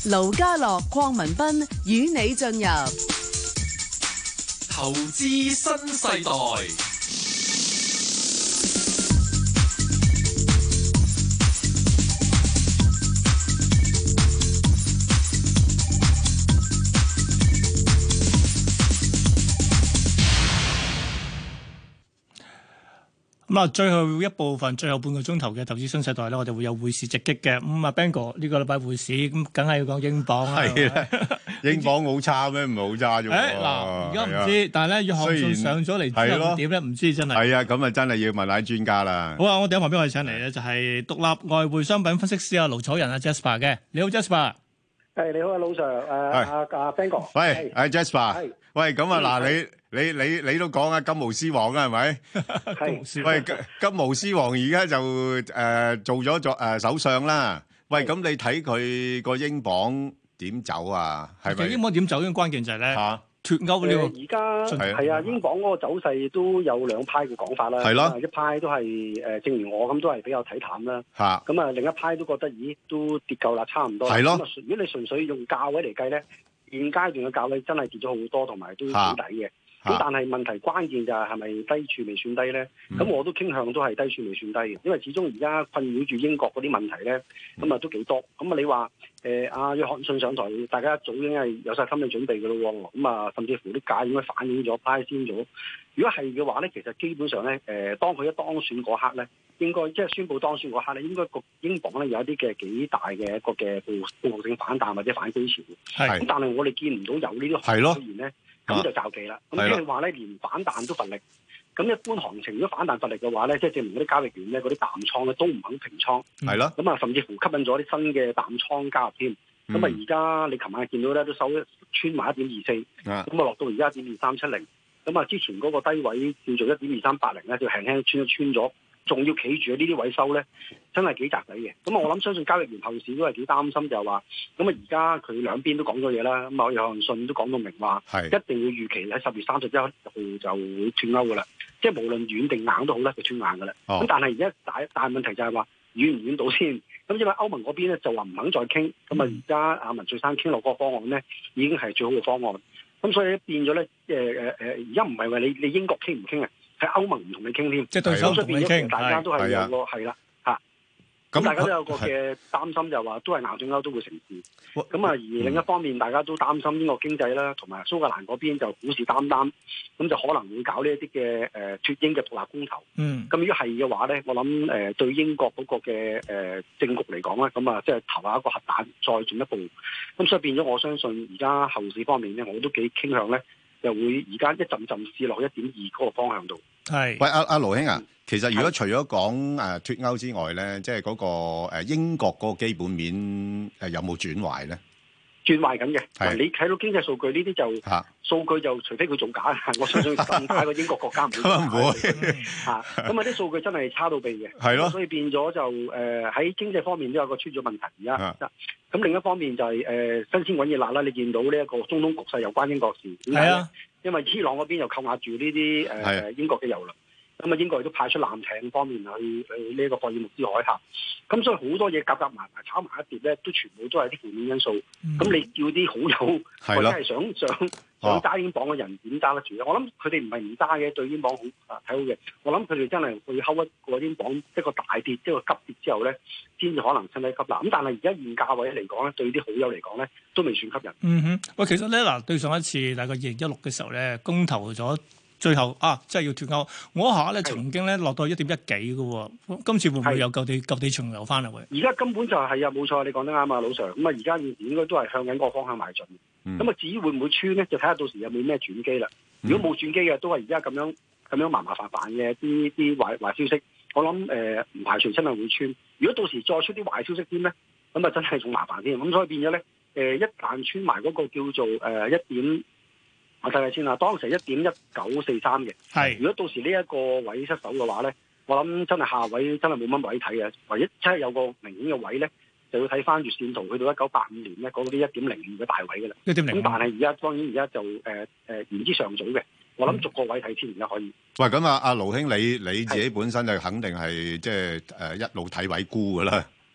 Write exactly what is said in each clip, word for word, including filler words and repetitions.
盧家樂、鄺民彬與你進入投資新世代。 咁啊，最後一部分，最後半個鐘頭嘅投資新世代咧，我哋會有匯市直擊嘅。咁啊 Bang 哥呢個禮拜匯市咁，梗係要講英鎊啦。 係啦，英鎊好差咩？唔係好差啫。 誒嗱，而家唔知，但係咧，約翰遜上咗嚟之後會點咧？唔知真係。 係啊，咁啊真係要問下專家啦。 好啊，我哋喺旁邊我哋請嚟咧，就係獨立外匯商品分析師啊盧楚仁啊 Jasper 嘅。你好 Jasper。 係你好啊，盧 Sir，誒阿阿 Bang 哥。 喂，阿 Jasper。喂，咁啊嗱，你你你你都講啊金毛獅王啊，係咪？ 係。 喂，金金毛獅王而家就誒做咗作誒首相啦。喂，咁你睇佢個英鎊點走啊？係咪？ 英鎊點走？因為關鍵就係咧脫歐呢個。 而家係啊，英鎊嗰個走勢都有兩派嘅講法啦。 係咯。 一派都係誒，正如我咁都係比較睇淡啦。 嚇。 咁啊，另一派都覺得，咦，都跌夠啦，差唔多。 係咯。 咁啊，如果你純粹用價位嚟計咧，現階段嘅價位真係跌咗好多，同埋都好抵嘅。咁但係問題關鍵就係係咪低處未算低咧？咁、嗯、我都傾向都係低處未算低嘅，因為始終而家困擾住英國嗰啲問題咧，咁啊都幾多。咁啊你話誒阿約翰遜上台，大家一早已經係有晒心理準備嘅咯喎。咁啊甚至乎啲價應該反映咗、派先咗。如果係嘅話咧，其實基本上咧誒、呃，當佢一當選嗰刻咧，應該即係宣布當選嗰刻咧，應該個英鎊咧有一啲嘅幾大嘅一個嘅報報復性反彈或者反擊潮。係。咁但係我哋見唔到有呢啲出現咧。咁就就忌啦，咁即係話咧，連反彈都乏力。咁一般行情如果反彈乏力嘅話咧，即係證明嗰啲交易員咧，嗰啲淡倉咧都唔肯平倉。係咯。咁啊，甚至乎吸引咗啲新嘅淡倉加入添。咁啊，而家你琴晚見到咧都收穿埋一點二四，咁啊落到而家一點二三七零。咁啊，之前嗰個低位叫做一點二三八零咧，就輕輕穿一穿咗。仲要企住喺呢啲位收咧，真係幾窄底嘅。咁啊，我諗相信交易員後市都係幾擔心，就係話，咁啊而家佢兩邊都講咗嘢啦。咁啊，約翰遜都講到明話，一定要預期喺十月三十一號就會脱歐噶啦。即係無論軟定硬都好咧，就脱硬噶啦。咁、哦、但係而家大大問題就係話軟唔軟到先。咁因為歐盟嗰邊咧就話唔肯再傾。咁啊而家阿文翠珊傾落嗰個方案咧，已經係最好嘅方案。咁所以變咗咧，誒誒誒，而家唔係話你你英國傾唔傾啊？喺歐盟唔同你傾添，即係對手同你傾，大家都係有個係啦嚇。咁大家都有個嘅擔心，就話都係硬脱歐都會成事。咁啊，而另一方面，大家都擔心英國經濟啦，同埋蘇格蘭嗰邊就虎視眈眈，咁就可能會搞呢一啲嘅誒脱英嘅獨立公投。嗯。咁如果係嘅話咧，我諗誒對英國嗰個嘅誒政局嚟講咧，咁啊即係投下一個核彈，再進一步。咁所以變咗，我相信而家後市方面咧，我都幾傾向咧。就會而家一陣陣試落一點二嗰個方向度。係，喂，阿阿盧兄啊，其實如果除咗講誒脱歐之外咧，即係嗰個誒英國嗰個基本面誒有冇轉壞咧？轉壞緊嘅，你睇到經濟數據呢啲就、啊、數據就除非佢做假，我相信咁大個英國國家唔會做假嚇。咁啊啲數據真係差到痹嘅，係咯，所以變咗就誒喺、呃、經濟方面都有個出咗問題而家。咁另一方面就係、是、誒、呃、新鮮滾熱辣啦，你見到呢一個中東局勢有關英國事，點解咧？因為伊朗嗰邊又扣押住呢啲誒英國嘅油輪。咁啊，英國亦都派出艦艇方面去去呢一個霍爾木茲海峽，咁所以好多嘢夾夾埋埋炒埋一碟咧，都全部都係啲負面因素。咁、嗯、你叫啲好友或者係想想想揸英鎊嘅人點揸得住咧？我諗佢哋唔係唔揸嘅，對英鎊好啊睇好嘅。我諗佢哋真係會睺一個英鎊一個大跌，一個急跌之後咧，先至可能趁低吸納。咁但係而家現價位嚟講咧，對啲好友嚟講咧，都未算吸引。嗯哼，喂，其實咧嗱，對上一次大概二零一六嘅時候咧，公投咗。最後啊，真係要脱歐，我一下咧曾經咧落到一點一幾嘅喎，今次會唔會有舊地舊地重遊翻嚟？而家根本就係、是、啊，冇錯，你講得啱啊，老 Sir。咁啊，而家應該都係向緊個方向邁進。咁、嗯、啊，至於會唔會穿咧，就睇下到時有冇咩轉機啦。如果冇轉機嘅，都係而家咁樣咁樣麻麻煩煩嘅啲啲壞壞消息。我諗誒唔排除真係會穿。如果到時再出啲壞消息添咧，咁啊真係仲麻煩添。咁所以變咗咧誒，一旦穿埋嗰個叫做誒一點。我睇睇先啦，當時一點一九四三嘅，係如果到時呢一個位失手嘅話咧，我諗真係下位真係冇乜位睇嘅，唯一真係有個明顯嘅位咧，就要睇翻月線圖去到一九八五年咧嗰啲一點零五嘅大位嘅啦。一點零五。咁但係而家當然而家就誒誒言之尚早嘅，我諗逐個位睇先而家可以。喂，咁啊，阿盧兄，你你自己本身就肯定係即係誒一路睇位沽㗎啦。係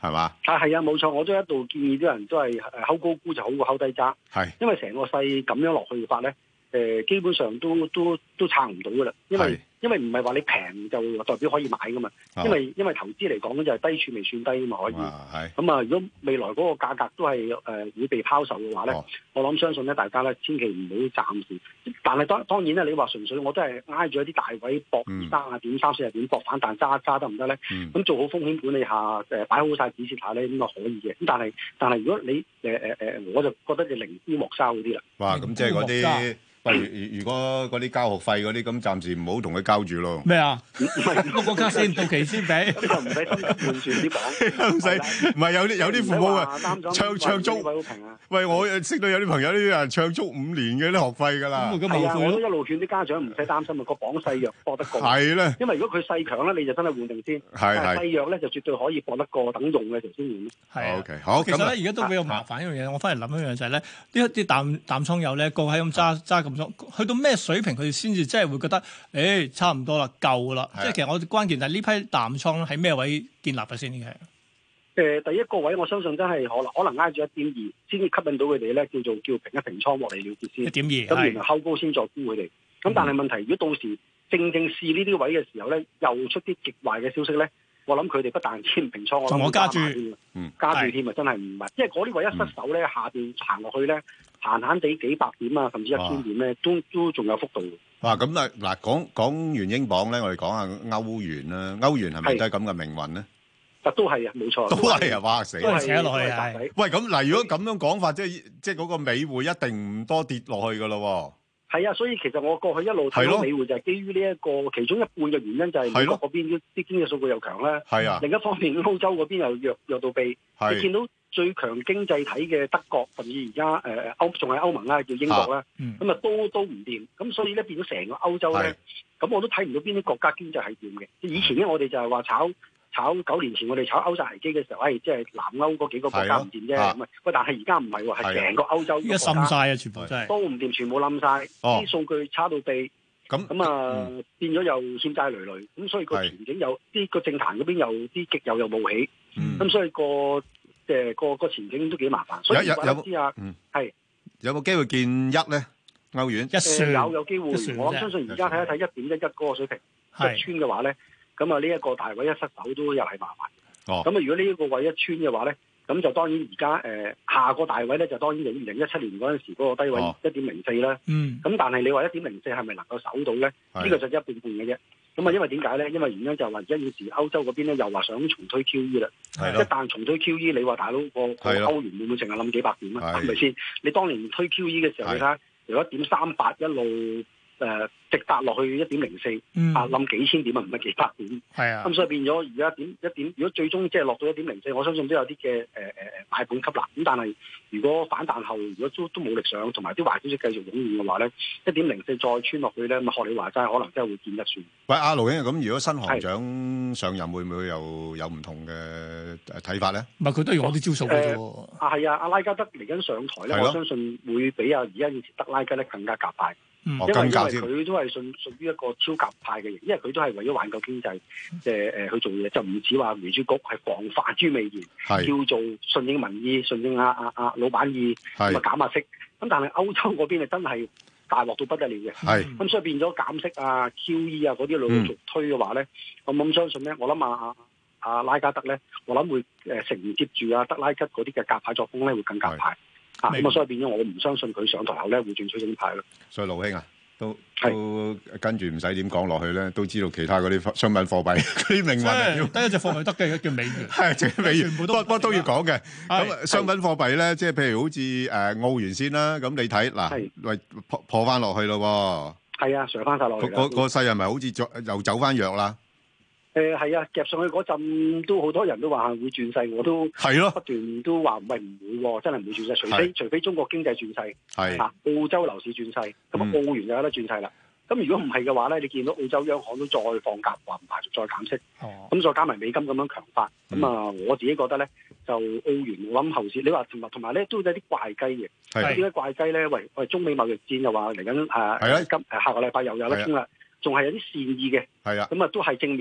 係嘛？ 啊係啊，冇錯，我都一度建議啲人都係誒睺高估就好過睺低揸， 係， 因為成個勢咁樣落去嘅話咧，誒、呃、基本上都都都撐唔到噶啦，因為因為唔係話你平就代表可以買噶嘛， 哦、 因為因為投資嚟講咧就係低處未算低啊嘛，可以。咁啊，如果未來嗰個價格都係誒、呃、會被拋售嘅話咧，哦、我諗相信咧大家咧千祈唔好暫時。但係當當然咧，你話純粹我都係挨住一啲大位搏二三啊點、三四啊點搏反彈揸揸得唔得咧？咁、嗯、做好風險管理下，誒、呃、擺好晒止蝕下咧，咁啊可以嘅。咁但係但係如果你誒誒誒，我就覺得你寧沽莫收嗰啲啦。 哇！咁即係嗰啲。如如果嗰啲交學費嗰啲咁，暫時唔好同佢交住咯。 咩啊？個國家先到期先俾， 咁就唔使心急換轉啲講。 唔使，唔係有啲有啲父母啊，唱唱足。喂，我識到有啲朋友啲人唱足五年嘅啲學費㗎啦。 係啊，我都一路勸啲家長唔使擔心啊，個榜細弱搏得過。 係咧。 因為如果佢細強咧，你就真係換定先。 係係。 細弱咧就絕對可以搏得過，等用嘅時候先換。 係 OK，好。 其實咧，而家都比較麻煩一樣嘢，我翻嚟諗一樣就係咧，呢一啲淡淡倉友咧，個喺咁揸揸咁倉，去到咩水平佢哋先至真係會覺得，誒、欸、差唔多啦，夠啦。即係其實我關鍵就係呢批淡倉喺咩位建立嘅先嘅？ 誒，第一個位我相信真係可能可能挨住一點二，先至吸引到佢哋咧，叫做叫平一平倉獲利了結先。一點二，咁然後後高先再沽佢哋。咁、嗯、但係問題，如果到時正正試呢啲位嘅時候咧，又出啲極壞嘅消息咧，我諗佢哋不但止唔平倉，我諗我加注， 嗯，加注添啊，真係唔係，因為嗰啲位一失手咧，嗯、下邊行落去咧，閒閒地幾百點啊，甚至一千點咧，都都仲有幅度。 哇！咁啊嗱，講講完英鎊咧，我哋講下歐元啦。歐元係咪都係咁嘅命運咧？啊， 都係啊，冇錯， 都係啊！哇死， 都係扯落去啊！ 喂，咁嗱，如果咁樣講法，即係即係嗰個美匯一定唔多跌落去噶咯。 係啊，所以其實我過去一路睇到美匯就係基於呢一個其中一半嘅原因，就係美國嗰邊啲啲經濟數據又強啦。係啊，另一方面歐洲嗰邊又弱弱到痹。你見到最強經濟體嘅德國，甚至而家誒歐仲係歐盟啦，叫英國啦，咁啊都都唔掂。咁所以咧變咗成個歐洲咧，咁我都睇唔到邊啲國家經濟係掂嘅。以前咧我哋就係話炒炒九年前我哋炒歐債危機嘅時候，誒即係南歐嗰幾個國家唔掂啫。咁啊，喂，但係而家唔係喎，係成個歐洲依家冧晒啊，全部真係都唔掂，全部冧晒，啲數據差到痹。咁咁啊，變咗又欠債累累。咁所以個前景有啲個政壇嗰邊有啲極右又冒起。咁所以個誒個個前景都幾麻煩。所以有有知啊，係有冇機會見一咧？歐元一算有有機會。我相信而家睇一睇一點一一嗰個水平一穿嘅話咧。咁啊，呢一個大位一失手都又係麻煩。哦。咁啊，如果呢一個位一穿嘅話咧，咁就當然而家誒下個大位咧，就當然就二零一七年嗰陣時嗰個低位一點零四啦。嗯。咁但係你話一點零四係咪能夠守到咧？呢、呢個就一半半嘅啫。咁啊，因為點解咧？因為原因就係話而家現時歐洲嗰邊咧又話想重推 Q E 啦。係咯。一旦重推 Q E， 你話大佬個個歐元會唔會淨係冧幾百點啊？係咪先？你當年推 Q E 嘅時候，你睇下由一點三八一路誒。呃直達落去一點零四，啊冧幾千點啊，唔係幾百點。係啊，咁所以變咗而家點一點，如果最終即係落到一點零四，我相信都有啲嘅誒誒誒買盤吸納。咁但係如果反彈後，如果都都冇力上，同埋啲壞消息繼續湧現嘅話咧，一點零四再穿落去咧，咁學你話齋，可能真係會見一算。 喂，阿盧兄，咁如果新行長上任，會唔會又有唔同嘅睇法咧？ 唔係佢都用我啲招數嘅啫喎。 啊係啊，阿拉加德嚟緊上台咧，我相信會比啊而家以前德拉吉咧更加鴿派。因為因為佢都係屬屬於一個超鴿派嘅型，因為佢都係為咗挽救經濟，即係誒去做嘢，就唔似話聯儲局係防範於未然，叫做順應民意、順應阿阿阿老闆意，咁啊減下息。咁但係歐洲嗰邊係真係大鑊到不得了嘅，咁、嗯、所以變咗減息啊、Q E 啊嗰啲陸續推嘅話咧，我咁相信咧，我諗啊阿阿拉加德咧，我諗會誒承接住啊德拉吉嗰啲嘅鴿派作風咧，會更鴿派。啊，咁啊，所以變咗我唔相信佢上台後咧會轉取正派咯。 所以盧兄啊，都都跟住唔使點講落去咧，都知道其他嗰啲商品貨幣嗰啲命運。 得一隻貨幣得嘅叫美元， 係隻美元，不過不過都要講嘅。咁商品貨幣咧，即係譬如好似誒澳元先啦，咁你睇嗱，喂破破翻落去咯喎。係啊，上翻晒落去。 個個勢係咪好似又走翻弱啦？ 誒係啊，夾上去嗰陣都好多人都話會轉勢，我都係咯，不斷都話唔係唔會喎，真係唔會轉勢，除非除非中國經濟轉勢，係啊，澳洲樓市轉勢，咁啊澳元就有得轉勢啦。咁如果唔係嘅話咧，你見到澳洲央行都再放鴿，話唔排除再減息，咁、哦、再加埋美金咁樣強化，咁、嗯、啊我自己覺得咧，就澳元我諗後市，你話同埋同埋咧都有啲怪雞嘅，點解怪雞咧？喂喂，中美貿易戰又話嚟緊誒今誒下個禮拜又有得傾啦。仲係有啲善意嘅，係啊，咁啊都係正面嘅，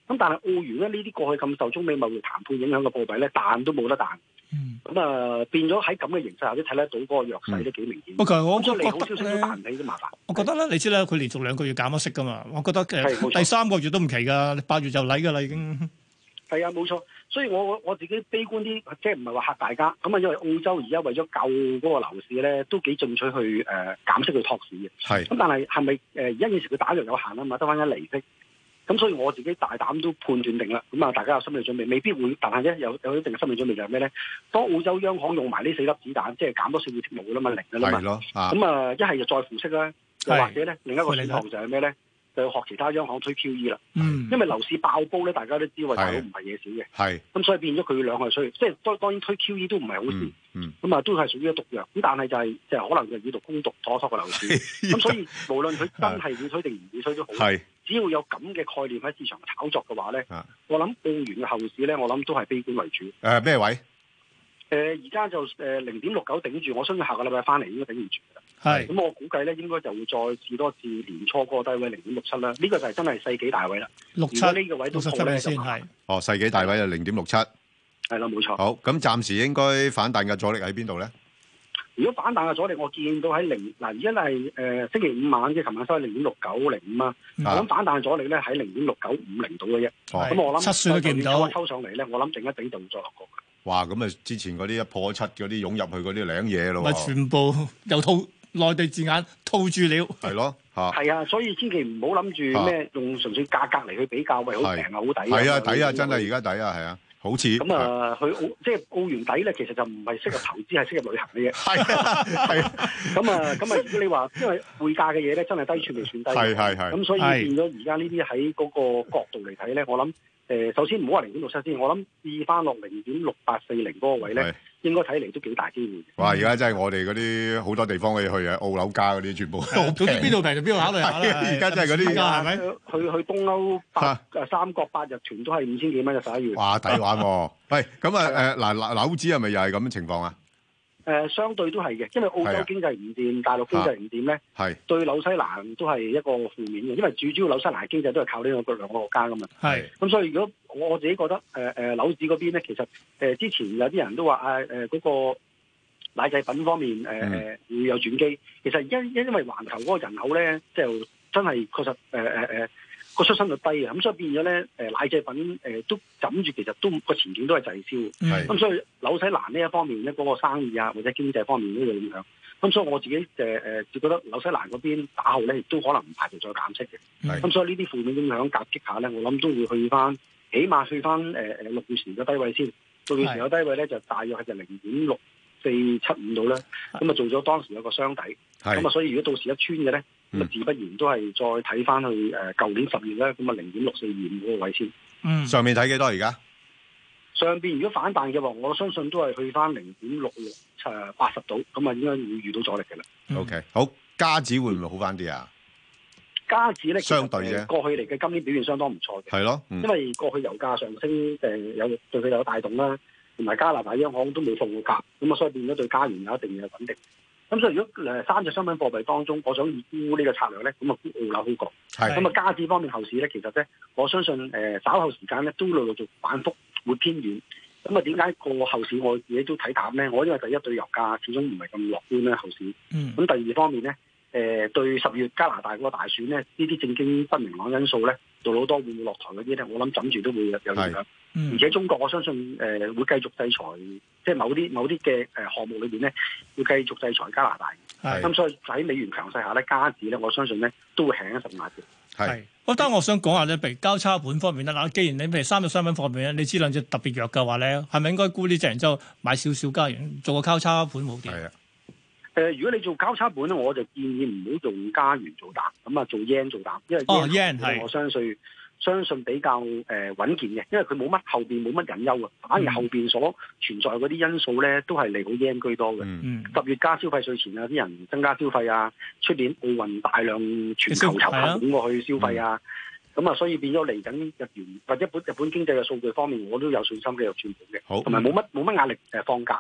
咁但係澳元咧呢啲過去咁受中美貿易談判影響嘅貨幣咧，彈都冇得彈。咁啊、嗯呃、變咗喺咁嘅形勢下，都睇得到嗰個弱勢都幾明顯。 不過、嗯、我覺得利好消息都彈唔起都麻煩。 我覺得咧，你知啦，佢連續兩個月減咗息噶嘛，我覺得其實第三個月都唔奇㗎，八月就嚟㗎啦已經。係啊，冇錯。所以我我自己悲觀啲，即係唔係話嚇大家。咁啊，因為澳洲而家為咗救嗰個樓市咧，都幾進取去誒、呃、減息去托市嘅。係。咁但係係咪誒而家件事佢打藥有限啊嘛，得翻一厘息。咁所以我自己大膽都判斷定啦。咁啊，大家有心理準備，未必會，但係咧有有一定嘅心理準備就係咩咧？當澳洲央行用埋呢四粒子彈，即係減多四個貼冇㗎啦嘛，零㗎啦嘛。係咯。咁啊，一係就再負息啦，又或者咧另一個選項就係咩咧？就要學其他央行推 Q E 啦，嗯、因為樓市爆煲咧，大家都知道大佬唔係嘢少嘅，係咁所以變咗佢兩個需要，即係當當然推 Q E 都唔係好事，咁啊、嗯嗯、都係屬於一毒藥，咁但係就係即係可能就以毒攻毒，妥妥個樓市，咁所以無論佢真係會推定唔會推都好，只要有咁嘅概念喺市場炒作嘅話咧，我諗澳元嘅後市咧，我諗都係悲觀為主。 誒咩、呃、位？ 誒而家就誒零點六九頂住，我相信下個禮拜翻嚟應該頂唔住㗎啦。係，咁我估計咧應該就會再試多次年初嗰個低位零點六七啦。呢、這個就係真係世紀大位啦。六七呢個位都破咧先係。哦， 世紀大位就零點六七。 係啦，冇錯。 好，咁暫時應該反彈嘅阻力喺邊度咧？ 如果反彈嘅阻力，我見到喺零嗱，而家係誒星期五晚即係琴晚收喺零點六九零五啊。我諗反彈嘅阻力咧喺零點六九五零度嘅啫。咁我諗七算都見唔到。抽上嚟咧，我諗頂一頂就會再落過。 哇！咁啊，之前嗰啲一破七嗰啲湧入去嗰啲領嘢咯， 咪全部又套內地字眼套住了， 係咯嚇。係啊，所以千祈唔好諗住咩用純粹價格嚟去比較，喂，好平啊，好抵啊。 係啊，抵啊，真係而家抵啊，係啊，好似咁啊，佢澳即係澳元抵咧，其實就唔係適合投資，係適合旅行嘅嘢。係啊，係啊。咁啊，咁啊，如果你話因為匯價嘅嘢咧，真係低處未算低。係係係。咁所以變咗而家呢啲喺嗰個角度嚟睇咧，我諗。誒，首先唔好話零點六七先，我諗試翻落零點六八四零嗰個位咧，應該睇嚟都幾大機會。 哇！而家真係我哋嗰啲好多地方可以去啊，澳樓價嗰啲全部。 總之邊度平就邊度考慮下啦。 而家真係嗰啲係咪？ 去去東歐八誒三國八日團都係五千幾蚊嘅十一月。 哇！抵玩喎！喂，咁啊誒嗱嗱樓指係咪又係咁嘅情況啊？ 誒、呃，相對都係嘅，因為澳洲經濟唔掂，大陸經濟唔掂咧，係、啊、對紐西蘭都係一個負面嘅，因為最主要紐西蘭經濟都係靠呢個兩個國家噶嘛。係是，咁所以如果我自己覺得誒誒樓市嗰邊咧，其實誒、呃、之前有啲人都話啊誒嗰個奶製品方面誒誒、呃嗯、會有轉機，其實因因因為環球嗰個人口咧，就真係確實誒誒誒個出生率低啊，咁所以變咗咧誒奶製品誒、呃、都枕住，其實都個前景都係滯銷。係，咁所以紐西蘭呢一方面咧，嗰、那個生意啊或者經濟方面都有影響。咁所以我自己誒誒就覺得紐西蘭嗰邊打後咧，亦都可能唔排除再減息嘅。咁所以呢啲負面影響夾擊下咧，我諗都會去翻，起碼去翻誒誒六月前嘅低位先。六月前嘅低位咧就大約係就零點六四七五度啦。咁啊做咗當時有個雙底。咁啊所以如果到時一穿嘅咧，咁啊、嗯、自不然都係再睇翻去誒舊年十月咧，咁啊零點六四二五嗰個位先。嗯， 上面睇幾多而家？ 上邊如果反彈嘅話，我相信都係去翻零點六六誒八十度，咁啊應該會遇到阻力嘅啦。 嗯、O、okay. K， 好，加指會唔會好翻啲啊？ 加指咧， 相對啫， 過去嚟嘅今年表現相當唔錯嘅。係咯，嗯、因為過去油價上升誒有對佢有帶動啦，同埋加拿大央行都冇放過鴿，咁啊所以變咗對加元有一定嘅穩定。咁所以如果誒三隻商品貨幣當中，我想以沽呢個策略咧，咁啊沽澳樓好過。係咁啊，加指方面後市咧，其實咧，我相信誒、呃、稍後時間咧都陸陸續反覆會偏軟。咁啊，點解個後市我自己都睇淡咧？我因為第一對油價始終唔係咁樂觀咧後市。嗯。咁第二方面咧，誒、呃、對十月加拿大嗰個大選咧，呢啲政經不明朗因素咧，杜魯多會唔會落台嗰啲咧，我諗枕住都會有影響。嗯、而且中國我相信誒、呃、會繼續制裁，即係某啲某啲嘅誒項目裏邊咧，會繼續制裁加拿大。係咁是，所以喺美元強勢下咧，加指咧，我相信咧都會輕一十萬嘅。 係是，我當我想講下咧，譬如交叉盤方面啦，嗱，既然你譬如三隻商品方面咧，你知兩隻特別弱嘅話咧，係咪應該沽呢隻，然之後買少少加元做個交叉盤好啲？係啊。 誒、呃，如果你做交叉盤咧，我就建議唔好用加元做膽，咁啊做 yen 做膽，因為 yen 係、哦、我相信。相信比較誒、呃、穩健嘅，因為佢冇乜後邊冇乜隱憂啊，反而後邊所存在嗰啲因素咧，都係利好 yen 居多嘅。十、嗯、月加消費稅前啊，啲人增加消費啊，出年奧運大量全球遊客湧過去消費啊，咁啊、嗯，所以變咗嚟緊日元或者本日本經濟嘅數據方面，我都有信心繼續轉盤嘅。好，同埋冇乜冇乜壓力誒放假。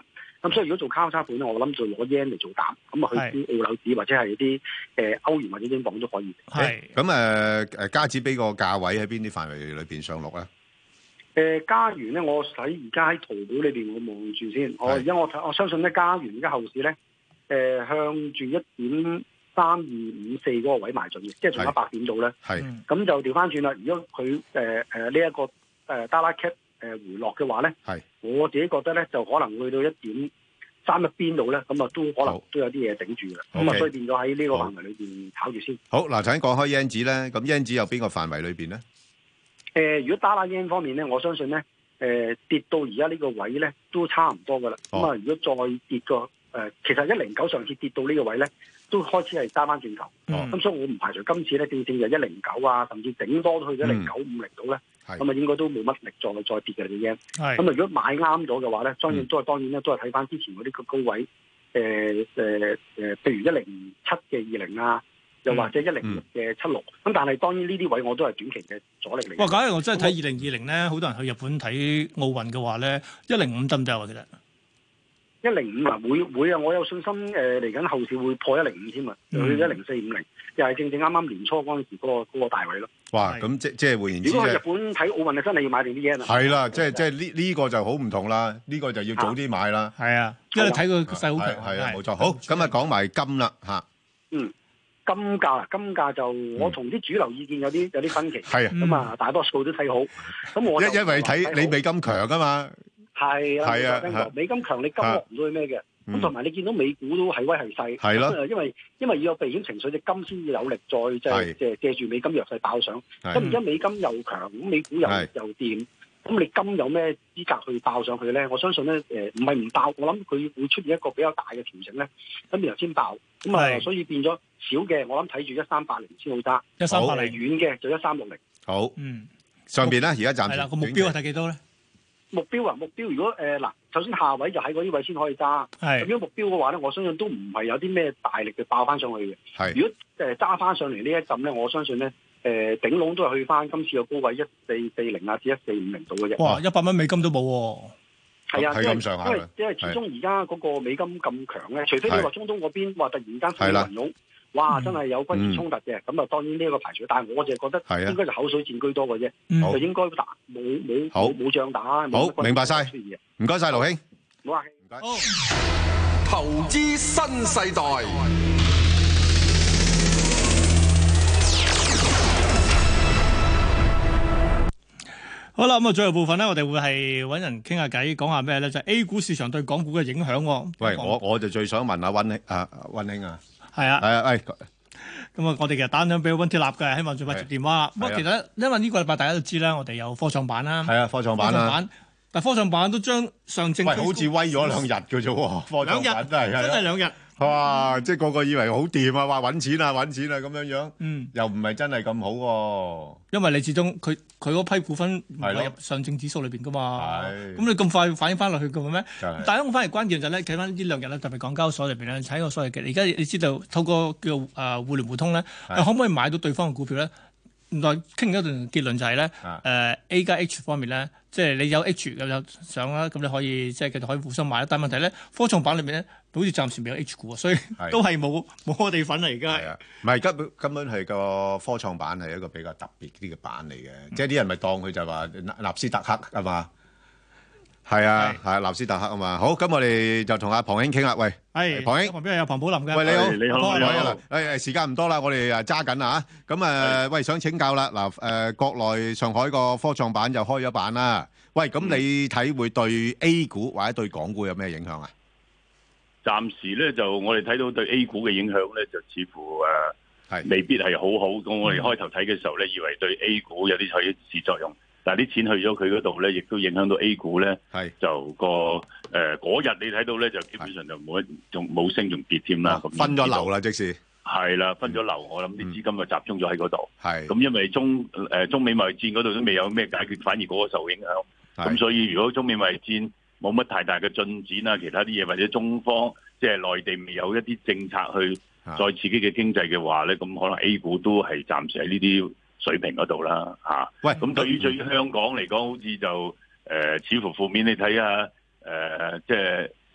咁所以如果做交叉盤咧，我諗就攞 yen 嚟做膽，咁啊去啲澳紐紙或者係啲誒歐元或者英鎊都可以。 係咁誒誒，加紙俾個價位喺邊啲範圍裏邊上落咧？ 誒加元咧，我喺而家喺圖表裏邊我望住先。我而家我我相信咧，加元而家後市咧，誒、呃、向住一點三二五四嗰個位埋進嘅，即係仲有一百點度咧。 係咁就調翻轉啦。如果佢誒誒呢一個誒 dollar cap 誒回落嘅話咧， 係我自己覺得咧就可能去到一點三一邊度咧，咁啊都可能都有啲嘢頂住嘅。咁啊，所以變咗喺呢個範圍裏邊炒住先。 好嗱，頭先講開 yen 紙咧，咁 yen 紙有邊個範圍裏邊咧？ 誒、呃，如果打拉 yen 方面咧，我相信咧，誒、呃、跌到而家呢個位咧，都差唔多噶啦。咁啊、哦，如果再跌個誒、呃，其實一零九上次跌到呢個位咧，都開始係揸翻轉頭。咁、嗯嗯、所以我唔排除今次咧，正正就一零九啊，甚至頂多都去咗一零九五零度咧。咁啊，應該都冇乜力再再跌嘅啲 yen。咁啊，如果買啱咗嘅話咧，當然都係當然咧，都係睇翻之前嗰啲個高位。誒誒誒，譬如一零七嘅二零啊。又或者一零六嘅七六，咁但係當然呢啲位我都係短期嘅阻力嚟。哇！ 假如我真係睇二零二零咧，好多人去日本睇奧運嘅話咧，一零五得唔得啊？其實一零五啊，會會啊，我有信心誒嚟緊後市會破一零五添啊，去一零四五零，又係正正啱啱年初嗰陣時嗰、嗰個嗰個大位咯。哇！咁即即係換言之，如果去日本睇奧運啊，真係要買定啲嘢啦。係啦，即係即係呢呢個就好唔同啦，呢、呢個就要早啲買啦。係啊，因為睇佢勢好強。係啊，冇錯。好，咁啊講埋金啦嚇。嗯。 金價啊，金價就我同啲主流意見有啲有啲分歧，係咁啊，大多數都睇好。咁我因因為睇你美金強啊嘛，係啊，係啊，美金強你金落唔到去咩嘅？咁同埋你見到美股都係威係勢，係咯，因為因為要有避險情緒，隻金先至有力再即係即係借住美金弱勢爆上。咁而家美金又強，咁美股又又掂。咁你金有咩資格去爆上去咧？我相信咧，誒唔係唔爆，我諗佢會出現一個比較大嘅調整咧，咁然後先爆。咁啊，所以變咗少嘅，我諗睇住一三八零先好揸，一三八零遠嘅就一三六零。好，嗯， 上邊咧而家暫時係啦，個目標係睇幾多咧？ 目標啊，目標如果誒嗱、呃，首先下位就喺嗰啲位先可以揸。係咁樣目標嘅話咧，我相信都唔係有啲咩大力嘅爆翻上去嘅。係，如果誒揸翻上嚟呢一陣咧，我相信咧。誒頂籠都係去翻今次嘅高位一四四零啊至一四五零度嘅啫。哇！一百蚊美金都冇喎。係啊，因為因為因為始終而家嗰個美金咁強咧，除非你話中東嗰邊話突然間升雲湧，哇！真係有軍事衝突嘅，咁啊當然呢一個排除。但係我就係覺得應該就口水戰居多嘅啫，就應該打冇冇冇冇仗打。 好，明白晒，唔該晒，盧兄。 唔好客氣。唔該。 投資新世代。 好啦，咁啊，最後部分咧，我哋會係揾人傾下偈，講下咩咧？就係 A 股市場對港股嘅影響。 喂，我我就最想問下溫兄啊，溫兄啊， 係啊， 係啊，喂， 咁啊，我哋其實打緊俾溫鐵立嘅，希望盡快接電話。不過其實因為呢個禮拜大家都知啦，我哋有科創板啦，係啊，科創板啦， 但科創板都將上證， 喂，好似威咗兩日嘅啫喎，科創板真係真係兩日。哇！即係個個以為好掂啊，話揾錢啊揾錢啊咁樣樣，嗯，又唔係真係咁好喎、啊。因為你始終佢佢嗰批股份唔係入上證指數裏邊噶嘛，咁你咁快反映翻落去嘅咩？但係我反而關鍵就係咧，睇翻呢兩日咧，特別港交所裏邊咧，睇個所謂嘅，而家你知道透過叫誒、呃、互聯互通咧，可唔可以買到對方嘅股票咧？原來傾咗一段結論就係、是、咧，誒、呃、A 加 H 方面咧，即係你有 H 咁有上啦，咁你可以即係繼續可以互相買啦。但係問題咧，科創板裏面咧，好似暫時未有 H 股啊，所以都係冇冇我哋份嚟而家。係啊，唔係根本根本係個科創板係一個比較特別啲嘅板嚟嘅，嗯、即係啲人咪當佢就話納納斯達克係嘛？係啊，係啊，納斯達克啊嘛。好，咁我哋就同阿龐兄傾啦。喂，係龐兄，旁邊有龐寶林嘅。喂，你好，你好，你好。誒誒，時間唔多啦，我哋誒揸緊啦嚇。咁誒，喂，想請教啦。嗱誒，國內上海個科創板就開咗板啦。喂，咁你睇會對 A 股或者對港股有咩影響啊？ 暫時咧就我哋睇到對 A 股嘅影響咧，就似乎誒係未必係好好。咁我哋開頭睇嘅時候咧，以為對 A 股有啲起示作用。但係啲錢去咗佢嗰度咧，亦都影響到 A 股咧。係就個誒嗰日你睇到咧，就基本上就冇一仲冇升仲跌添啦。咁分咗流啦，即是係啦，分咗流。我諗啲資金就集中咗喺嗰度。係咁，因為中誒、呃、中美貿易戰嗰度都未有咩解決，反而嗰個受影響。咁所以如果中美貿易戰冇乜太大嘅進展啊，其他啲嘢或者中方即係內地未有一啲政策去再刺激嘅經濟嘅話咧，咁可能 A 股都係暫時喺呢啲水平嗰度啦，嚇。喂，咁對於對於香港嚟講，好似就誒、呃、似乎負面。你睇下誒，即係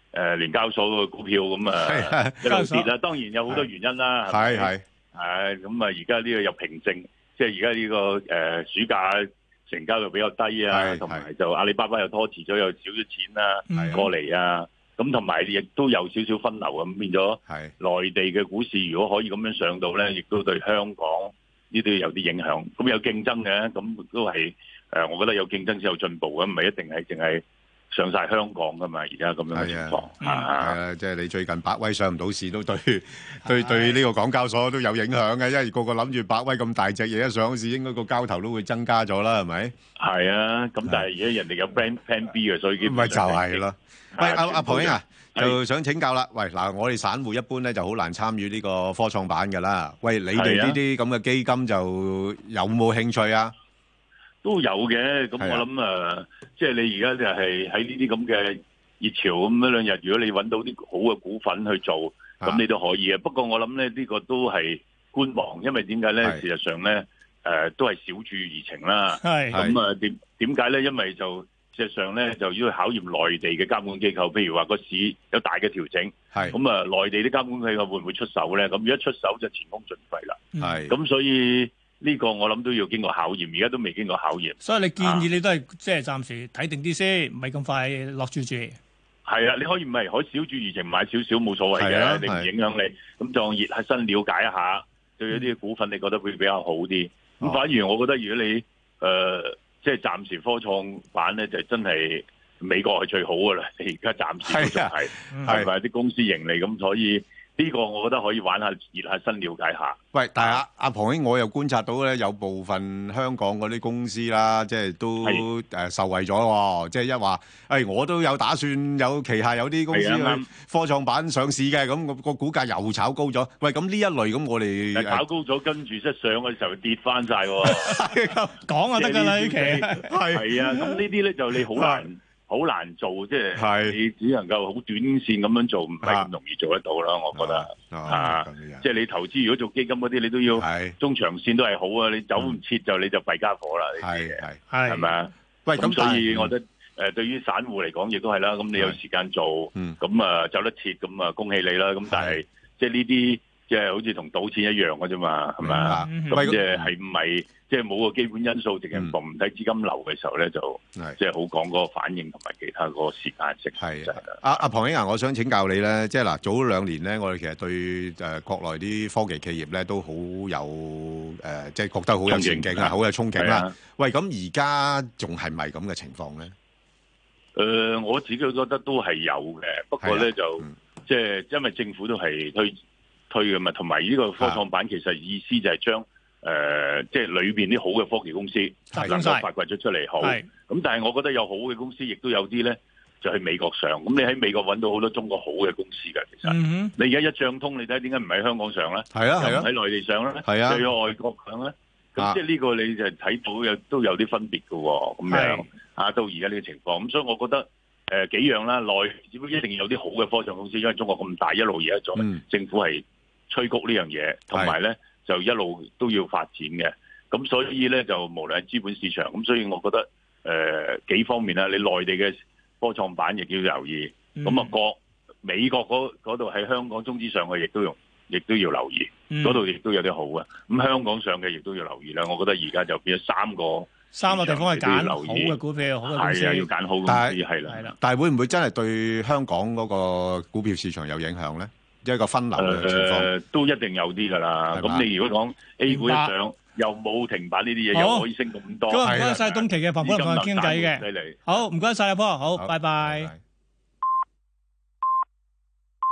誒聯交所個股票咁啊一路跌啦。當然有好多原因啦， 係係係咁啊！而家呢個又平靜，即係而家呢個誒暑假成交又比較低啊，同埋就阿里巴巴又拖遲咗，有少少錢啦過嚟啊。咁同埋亦都有少少分流咁，變咗內地嘅股市如果可以咁樣上到咧，亦都對香港呢啲有啲影響。咁有競爭嘅，咁都係誒，我覺得有競爭先有進步嘅，唔係一定係淨係上晒香港噶嘛。而家咁樣嘅情況係啊，即係你最近百威上唔到市，都對對對呢個港交所都有影響嘅，因為個個諗住百威咁大隻嘢一上市，應該個交投都會增加咗啦，係咪？係啊，咁但係而家人哋有 plan plan B 嘅，所以咪就係咯。喂，阿阿龐兄啊，就想請教啦。喂，嗱，我哋散戶一般咧就好難參與呢個科創板㗎啦。喂，你哋呢啲咁嘅基金就有冇興趣啊？ 都有嘅。咁我諗誒，即係你而家就係喺呢啲咁嘅熱潮咁一兩日，如果你揾到啲好嘅股份去做，咁你都可以嘅。不過我諗咧，呢個都係觀望，因為點解咧？事實上咧，誒都係小注怡情啦。係咁啊？點點解咧？因為就事實上咧，就要考驗內地嘅監管機構，譬如話個市有大嘅調整，咁啊，內地啲監管機構會唔會出手咧？咁如果出手就前功盡廢啦。係咁，所以呢個我諗都要經過考驗，而家都未經過考驗。 所以你建議你都係即係暫時睇定啲先，唔係咁快落注注。 係啊，你可以唔係可以小注怡情買少少冇所謂嘅，你唔影響你。咁就熱下身了解一下，對一啲股份你覺得會比較好啲。咁反而我覺得如果你誒。即係暫時科創板咧，就真係美國係最好噶啦。你而家暫時都仲係係咪啲公司盈利咁？所以呢個我覺得可以玩下熱下身，了解下。 喂，但係阿阿龐兄，我又觀察到咧，有部分香港嗰啲公司啦，即係都誒受惠咗喎。即係一話，誒我都有打算有旗下有啲公司去科創板上市嘅，咁個個股價又炒高咗。喂，咁呢一類咁，我哋炒高咗，跟住一上嘅時候跌翻曬喎。 講就得㗎啦，呢期係係啊，咁呢啲咧就你好難。好難做，即係你只能夠好短線咁樣做，唔係咁容易做得到啦。我覺得啊，即係你投資如果做基金嗰啲，你都要中長線都係好啊。你走唔切就你就弊家伙啦。係係係咪啊？喂，咁所以我覺得誒，對於散戶嚟講亦都係啦。咁你有時間做，咁啊走得切，咁啊恭喜你啦。咁但係即係呢啲即係好似同賭錢一樣嘅啫嘛，係咪啊？咁即係係唔係？即係冇個基本因素，淨係防唔睇資金流嘅時候咧，就即係好講嗰個反應同埋其他嗰個時間性。係阿阿龐兄啊，我想請教你咧，即係嗱，早兩年咧，我哋其實對誒國內啲科技企業咧都好有誒，即係覺得好有前景啊，好有憧憬啦。喂，咁而家仲係咪咁嘅情況咧？ 誒，我自己覺得都係有嘅，不過咧就即係因為政府都係推推嘅嘛，同埋呢個科創板其實意思就係將誒、呃，即係裏邊啲好嘅科技公司能夠發掘咗出嚟好，咁但係我覺得有好嘅公司，亦都有啲咧就喺美國上。咁你喺美國揾到好多中國好嘅公司㗎，其實。嗯、你而家一賬通，你睇點解唔喺香港上咧？係啊係啊，喺內地上咧？係啊，又喺外國上咧？咁、啊、即係呢個你就睇到有都有啲分別㗎喎。咁樣啊，到而家呢個情況，咁所以我覺得誒、呃、幾樣啦，內只不過一定要有啲好嘅科創公司，因為中國咁大，一路而家做，嗯、政府係催谷呢樣嘢，同埋咧。就一路都要發展嘅，咁所以咧就無論係資本市場，咁所以我覺得誒、呃、幾方面啦，你內地嘅科創板亦要留意，咁啊國美國嗰度喺香港中資上去亦都用，亦都要留意，嗰度亦都有啲好嘅，咁香港上嘅亦都要留意啦。我覺得而家就變咗三個三個地方係揀好嘅股票，好嘅公司， 係啊，要揀好公司係啦。 係但係會唔會真係對香港嗰個股票市場有影響咧？一個分流嘅情況、 呃，都一定有啲㗎啦。咁你如果講 A 股一上，又冇停板呢啲嘢，又可以升咁多。 咁唔該晒東驥嘅龐博同我傾偈嘅。好，唔該晒阿波，好，拜拜。拜拜。